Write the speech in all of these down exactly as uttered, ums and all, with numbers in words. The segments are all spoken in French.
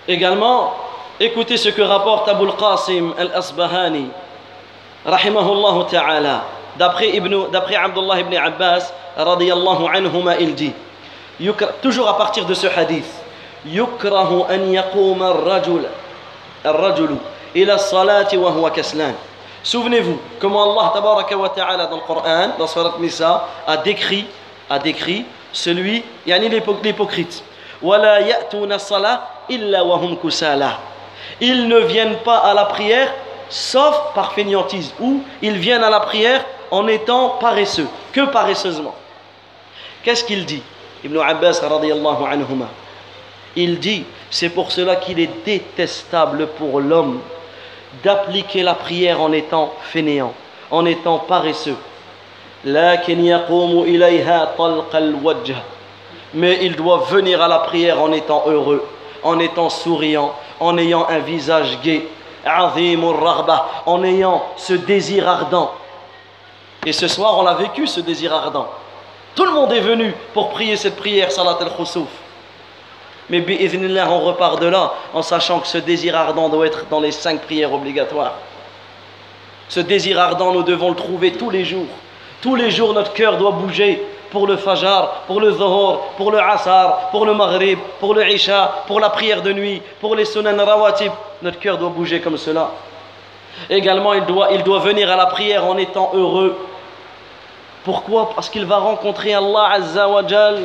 Également, écoutez ce que rapporte Abu al-Qasim al-Asbahani, rahimahullah ta'ala, d'après, Ibn, d'après Abdullah ibn Abbas, radiyallahu anhuma, il dit, toujours à partir de ce hadith, yukrahu an yaquma ar-rajul ar-rajulu ila as-salati wa huwa kaslan. Souvenez-vous comment Allah tabaraka wa ta'ala dans le Coran, dans Surat Nisa, a décrit, a décrit celui, yani l'hypocrite. Wala ya'tuna as-salah illa wa hum kusala. Ils ne viennent pas à la prière sauf par fainéantise, ou ils viennent à la prière en étant paresseux, que paresseusement. Qu'est-ce qu'il dit? Ibn Abbas radiyallahu anhuma, il dit, c'est pour cela qu'il est détestable pour l'homme d'appliquer la prière en étant fainéant, en étant paresseux. Lakin yaqumu ilayha talqa al-wajh. Mais il doit venir à la prière en étant heureux, en étant souriant, en ayant un visage gai, azimur raghba, en ayant ce désir ardent. Et ce soir, on a vécu ce désir ardent. Tout le monde est venu pour prier cette prière, salat al-khusuf. Mais bi'idhnillah, on repart de là en sachant que ce désir ardent doit être dans les cinq prières obligatoires. Ce désir ardent, nous devons le trouver tous les jours. Tous les jours, notre cœur doit bouger pour le fajr, pour le zuhur, pour le asar, pour le maghrib, pour le isha, pour la prière de nuit, pour les sunan rawatib. Notre cœur doit bouger comme cela. Également, il doit, il doit venir à la prière en étant heureux. Pourquoi? Parce qu'il va rencontrer Allah Azza wa Jal.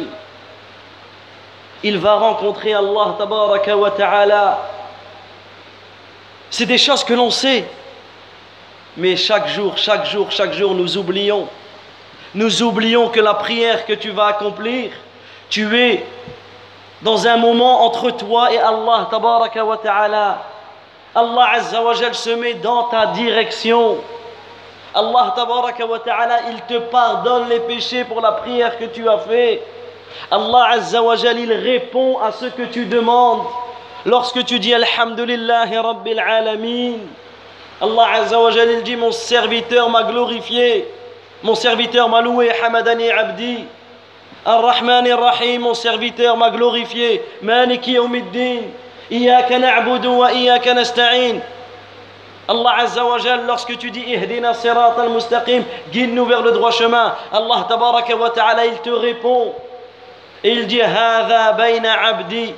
Il va rencontrer Allah Tabaraka wa Ta'ala. C'est des choses que l'on sait. Mais chaque jour, chaque jour, chaque jour, nous oublions. Nous oublions que la prière que tu vas accomplir, tu es dans un moment entre toi et Allah Tabaraka wa Ta'ala. Allah Azza wa Jal se met dans ta direction. Allah Tabaraka wa Ta'ala, il te pardonne les péchés pour la prière que tu as fait. Allah Azza wa Jal, il répond à ce que tu demandes. Lorsque tu dis Alhamdulillahi Rabbil Alamin, Allah Azza wa Jal, il dit, mon serviteur m'a glorifié, mon serviteur m'a loué, Hamadani Abdi. Ar-Rahman Ar-Rahim, mon serviteur m'a glorifié, Maliki Yawmiddin, Iyaka na'budu wa Iyaka nasta'in. Allah Azza wa Jal, lorsque tu dis Ihdina sirat al-mustaqim, guide-nous vers le droit chemin, Allah Tabaraka wa Ta'ala, il te répond. Et il dit Hadha bayna abdi.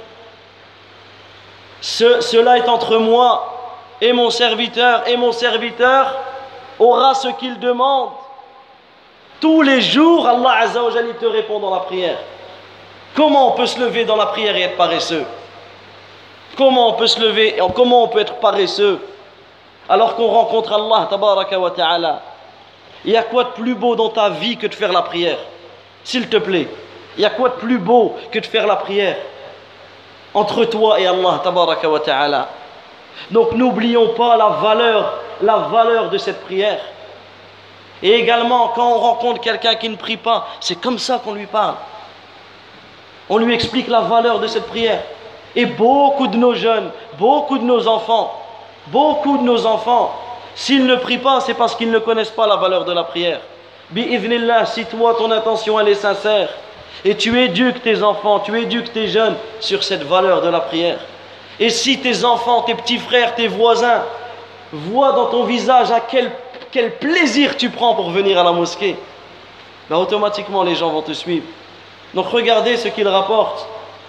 Ce, cela est entre moi et mon serviteur, et mon serviteur aura ce qu'il demande. Tous les jours, Allah Azza wa Jal, il te répond dans la prière. Comment on peut se lever dans la prière et être paresseux? Comment on peut se lever, comment on peut être paresseux alors qu'on rencontre Allah Tabaraka wa Ta'ala? Il y a quoi de plus beau dans ta vie que de faire la prière? S'il te plaît, il y a quoi de plus beau que de faire la prière entre toi et Allah Tabaraka wa Ta'ala? Donc n'oublions pas la valeur, la valeur de cette prière. Et également, quand on rencontre quelqu'un qui ne prie pas, c'est comme ça qu'on lui parle. On lui explique la valeur de cette prière. Et beaucoup de nos jeunes, beaucoup de nos enfants, beaucoup de nos enfants, s'ils ne prient pas, c'est parce qu'ils ne connaissent pas la valeur de la prière. Bi'idhnillah, si toi, ton intention, elle est sincère, et tu éduques tes enfants, tu éduques tes jeunes sur cette valeur de la prière. Et si tes enfants, tes petits frères, tes voisins voient dans ton visage à quel, quel plaisir tu prends pour venir à la mosquée, ben automatiquement les gens vont te suivre. Donc regardez ce qu'il rapporte.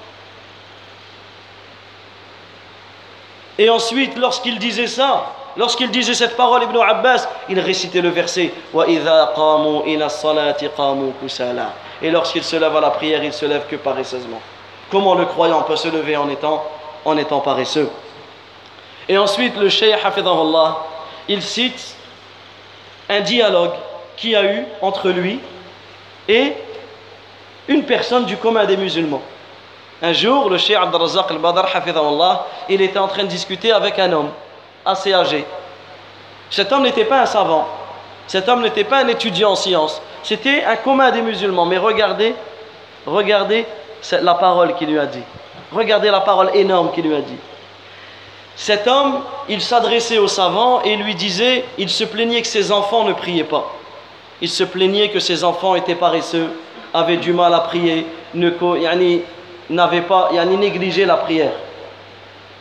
Et ensuite, lorsqu'il disait ça, lorsqu'il disait cette parole, Ibn Abbas, il récitait le verset وَإِذَا قَامُوا إِلَى الصَّلَاةِ قَامُوا كُسَالًا. Et lorsqu'il se lève à la prière, il se lève que paresseusement. Comment le croyant peut se lever en étant, en étant paresseux? Et ensuite, le Cheikh Hafidhahullah, il cite un dialogue qu'il y a eu entre lui et une personne du commun des musulmans. Un jour, le Cheikh Abd al-Razzaq al-Badr, Hafidhahullah, il était en train de discuter avec un homme assez âgé. Cet homme n'était pas un savant, cet homme n'était pas un étudiant en sciences, c'était un commun des musulmans. Mais regardez, regardez la parole qu'il lui a dit. Regardez la parole énorme qu'il lui a dit. Cet homme, il s'adressait aux savants et lui disait, il se plaignait que ses enfants ne priaient pas. Il se plaignait que ses enfants étaient paresseux, avaient du mal à prier, ne, yani, n'avaient pas, yani, négligé la prière.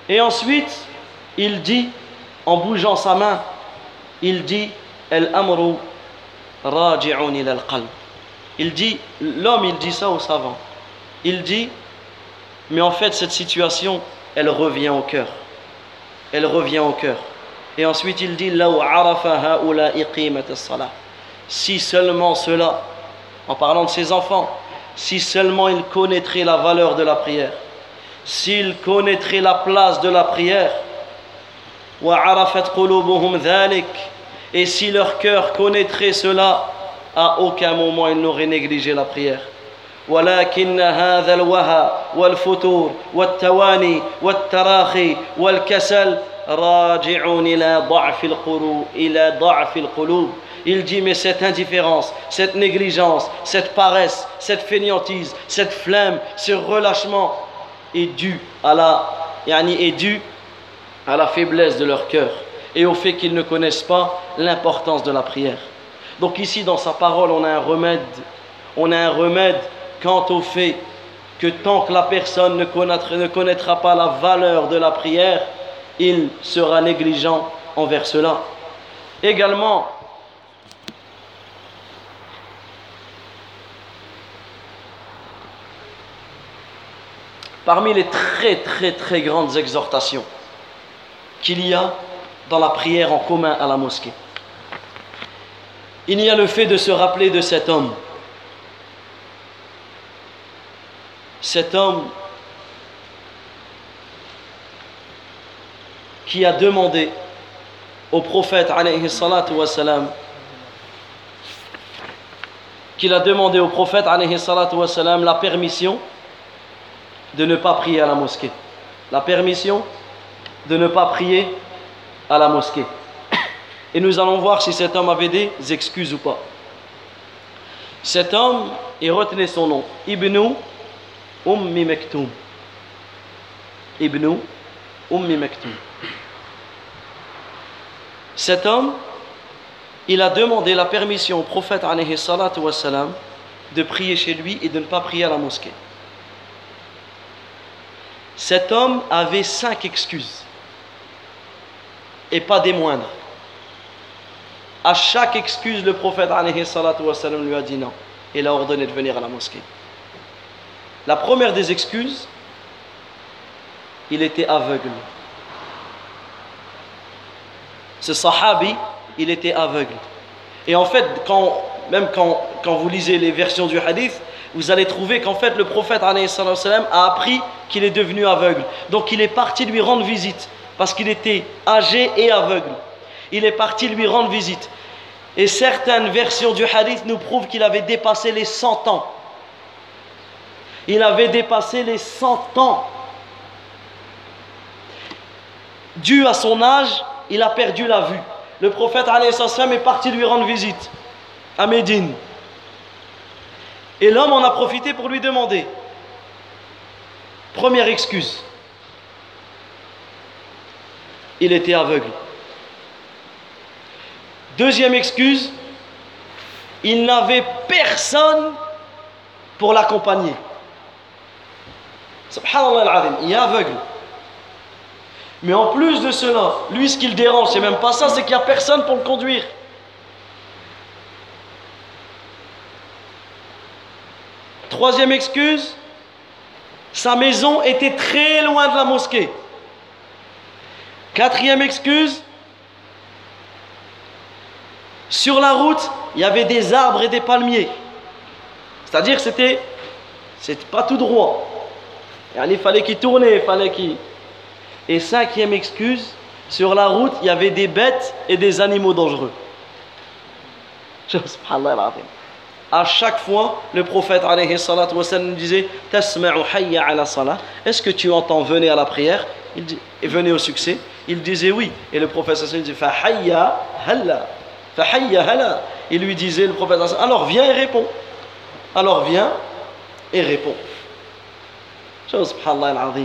Et ensuite, il dit, en bougeant sa main, il dit Al-amru raji'un ila al-qalb. Il dit, l'homme, il dit ça au savant. Il dit, mais en fait, cette situation, elle revient au cœur. Elle revient au cœur. Et ensuite, il dit Law arafa ha'ula'i qimat as-salah. Si seulement cela, en parlant de ses enfants, si seulement ils connaîtraient la valeur de la prière, s'ils connaîtraient la place de la prière, wa arafat qulubuhum dhalik, et si leur cœur connaîtrait cela, à aucun moment ils n'auraient négligé la prière. ولكن هذا الوهى والفتور والتواني والتراخي والكسل راجع إلى ضعف القلوب إلى ضعف القلوب. Il dit, mais cette indifférence, cette négligence, cette paresse, cette fainéantise, cette flemme, ce relâchement est dû à la, yani est dû à la faiblesse de leur cœur et au fait qu'ils ne connaissent pas l'importance de la prière. Donc ici, dans sa parole, on a un remède, on a un remède quant au fait que tant que la personne ne connaîtra, ne connaîtra pas la valeur de la prière, il sera négligent envers cela. Également, parmi les très très très grandes exhortations qu'il y a dans la prière en commun à la mosquée, il y a le fait de se rappeler de cet homme. Cet homme qui a demandé au prophète alayhi salatu wa salam, qu'il a demandé au prophète alayhi salatu wa salam la permission de ne pas prier à la mosquée. La permission de ne pas prier à la mosquée. Et nous allons voir si cet homme avait des excuses ou pas. Cet homme, et retenez son nom, Ibn Ummi Maktoum. Ibn Ummi Maktoum. Cet homme, il a demandé la permission au prophète alayhi salatu wa salam de prier chez lui et de ne pas prier à la mosquée. Cet homme avait cinq excuses et pas des moindres. À chaque excuse, le prophète alayhi salatu wa salam lui a dit non. Il a ordonné de venir à la mosquée. La première des excuses, il était aveugle. Ce sahabi, il était aveugle. Et en fait, quand, même quand, quand vous lisez les versions du hadith, vous allez trouver qu'en fait le prophète alayhi salatu wa salam a appris qu'il est devenu aveugle. Donc il est parti lui rendre visite parce qu'il était âgé et aveugle. Il est parti lui rendre visite. Et certaines versions du hadith nous prouvent qu'il avait dépassé les cent ans. Il avait dépassé les cent ans. Dû à son âge, il a perdu la vue. Le prophète alayhi salam est parti lui rendre visite à Médine. Et l'homme en a profité pour lui demander. Première excuse. Il était aveugle. Deuxième excuse, il n'avait personne pour l'accompagner. Subhanallah al-azim, il est aveugle. Mais en plus de cela, lui ce qui le dérange, c'est même pas ça, c'est qu'il n'y a personne pour le conduire. Troisième excuse, sa maison était très loin de la mosquée. Quatrième excuse, sur la route, il y avait des arbres et des palmiers. C'est-à-dire que c'était, c'était pas tout droit. Il fallait qu'il tourne, il fallait qu'il... Et cinquième excuse, sur la route, il y avait des bêtes et des animaux dangereux. À chaque fois, le prophète alayhi salatu wa sallam disait Tasma'u hayya ala salah. Est-ce que tu entends venez à la prière? Il dit, et venez au succès. Il disait oui. Et le prophète sallallahu alayhi wa sallam dit Fa hayya halla. Fa hayya halla. Il lui disait, le prophète sallallahu alayhi wa sallam, alors viens et réponds. Alors viens et réponds. Subhanallah al-azim.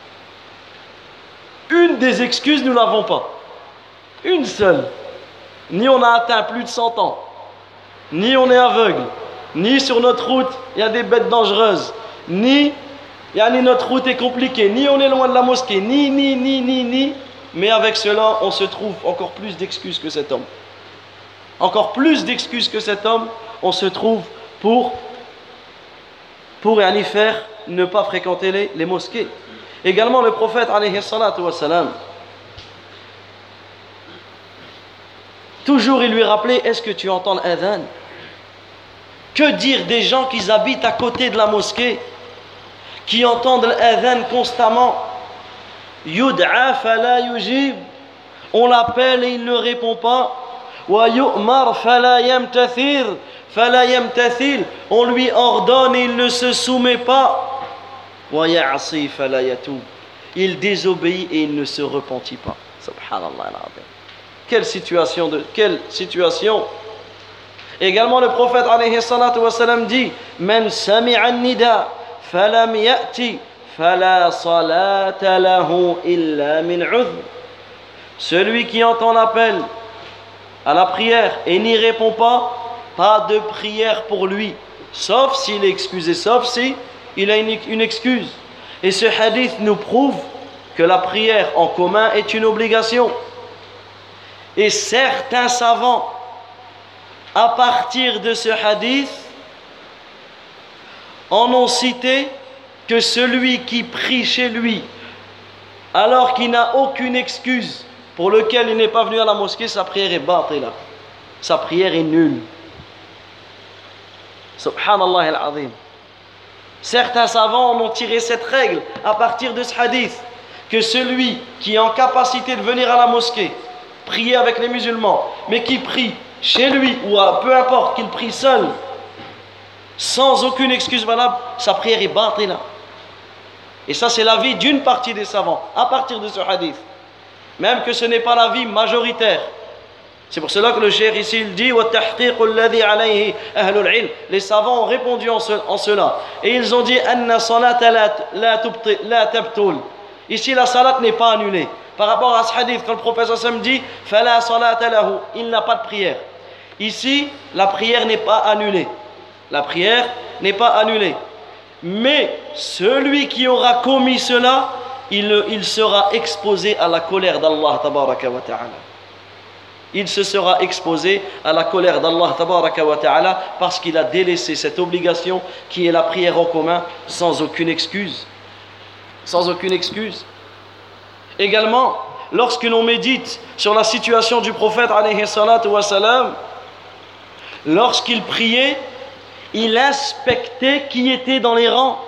Une des excuses, nous n'avons pas. Une seule. Ni on a atteint plus de cent ans, ni on est aveugle, ni sur notre route il y a des bêtes dangereuses, ni Yani notre route est compliquée, ni on est loin de la mosquée, ni, ni, ni, ni, ni. Mais avec cela, on se trouve encore plus d'excuses que cet homme. Encore plus d'excuses que cet homme, on se trouve pour, pour yani, faire ne pas fréquenter les, les mosquées. Également, le prophète, alayhi salatu wa salam, toujours il lui rappelait, est-ce que tu entends l'adhan? Que dire des gens qui habitent à côté de la mosquée, qui entendent l'adhan constamment? Yud'a fala yujib, on l'appelle et il ne répond pas. Wa yu'mar fala yamtathir, fala yamtathil, on lui ordonne et il ne se soumet pas. Wa ya'si fala yatub, il désobéit et il ne se repentit pas. Subhanallah al-azim. Quelle situation de quelle situation. Également le prophète alayhi salatu wa salam dit: Man sami'a an-nida falam ya'ti fala salata lahu illa min 'udhr. Celui qui entend l'appel à la prière et n'y répond pas, pas de prière pour lui, sauf s'il est excusé, sauf si il a une, une excuse. Et ce hadith nous prouve que la prière en commun est une obligation. Et certains savants, à partir de ce hadith, en ont cité que celui qui prie chez lui, alors qu'il n'a aucune excuse pour lequel il n'est pas venu à la mosquée, sa prière est batila. Sa prière est nulle. Subhanallah al-azim. Certains savants en ont tiré cette règle à partir de ce hadith, que celui qui est en capacité de venir à la mosquée, prier avec les musulmans, mais qui prie chez lui, ou à, peu importe, qu'il prie seul, sans aucune excuse valable, sa prière est batila. Et ça, c'est l'avis d'une partie des savants, à partir de ce hadith. Même que ce n'est pas l'avis majoritaire. C'est pour cela que le cheikh ici il dit les savants ont répondu en, ce, en cela. Et ils ont dit ici la salat n'est pas annulée. Par rapport à ce hadith, quand le prophète sallam dit il n'a pas de prière. Ici, la prière n'est pas annulée. La prière n'est pas annulée. Mais celui qui aura commis cela, il, il sera exposé à la colère d'Allah tabaraka wa ta'ala. Il se sera exposé à la colère d'Allah tabaraka wa ta'ala parce qu'il a délaissé cette obligation qui est la prière en commun sans aucune excuse. Sans aucune excuse. Également, lorsque l'on médite sur la situation du prophète alayhi salatu wa salam, lorsqu'il priait, il inspectait qui était dans les rangs.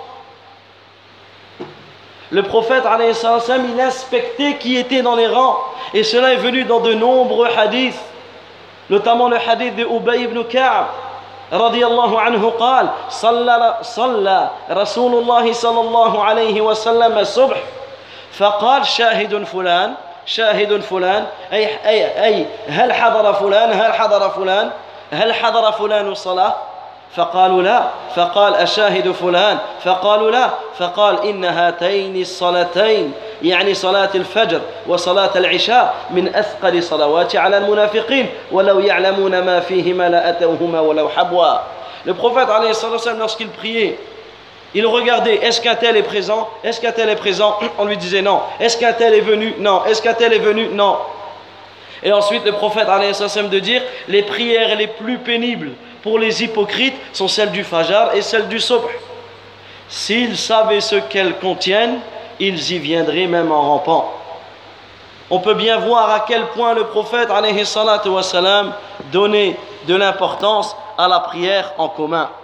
Le prophète alayhi salatu wa salam, il inspectait qui était dans les rangs. Et cela est venu dans de nombreux hadiths, notamment le hadith de Ubay ibn Ka'b رضي الله عنه قال صلى صلى رسول الله صلى الله عليه وسلم الصبح فقال شاهد فلان شاهد فلان أي أي أي هل حضر فلان هل حضر فلان هل حضر فلان الصلاة فقالوا لا فقال أشاهد فلان فقالوا لا فقال إن هاتين الصلاتين يعني صلاة الفجر وصلاة العشاء من أثقل صلوات على المنافقين ولو يعلمون ما فيهما لأتوهما ولو حبوا. Le prophète alayhi sallam, lorsqu'il priait, il regardait, est-ce qu'un tel est présent? Est-ce qu'un tel est présent? On lui disait non. Est-ce qu'un tel est venu? Non. Est-ce qu'un tel est venu? Non. Et ensuite le prophète alayhi sallam de dire, les prières les plus pénibles pour les hypocrites sont celles du Fajr et celles du Subh. S'ils savaient ce qu'elles contiennent, ils y viendraient même en rampant. On peut bien voir à quel point le prophète alayhi salatu wa salam donnait de l'importance à la prière en commun.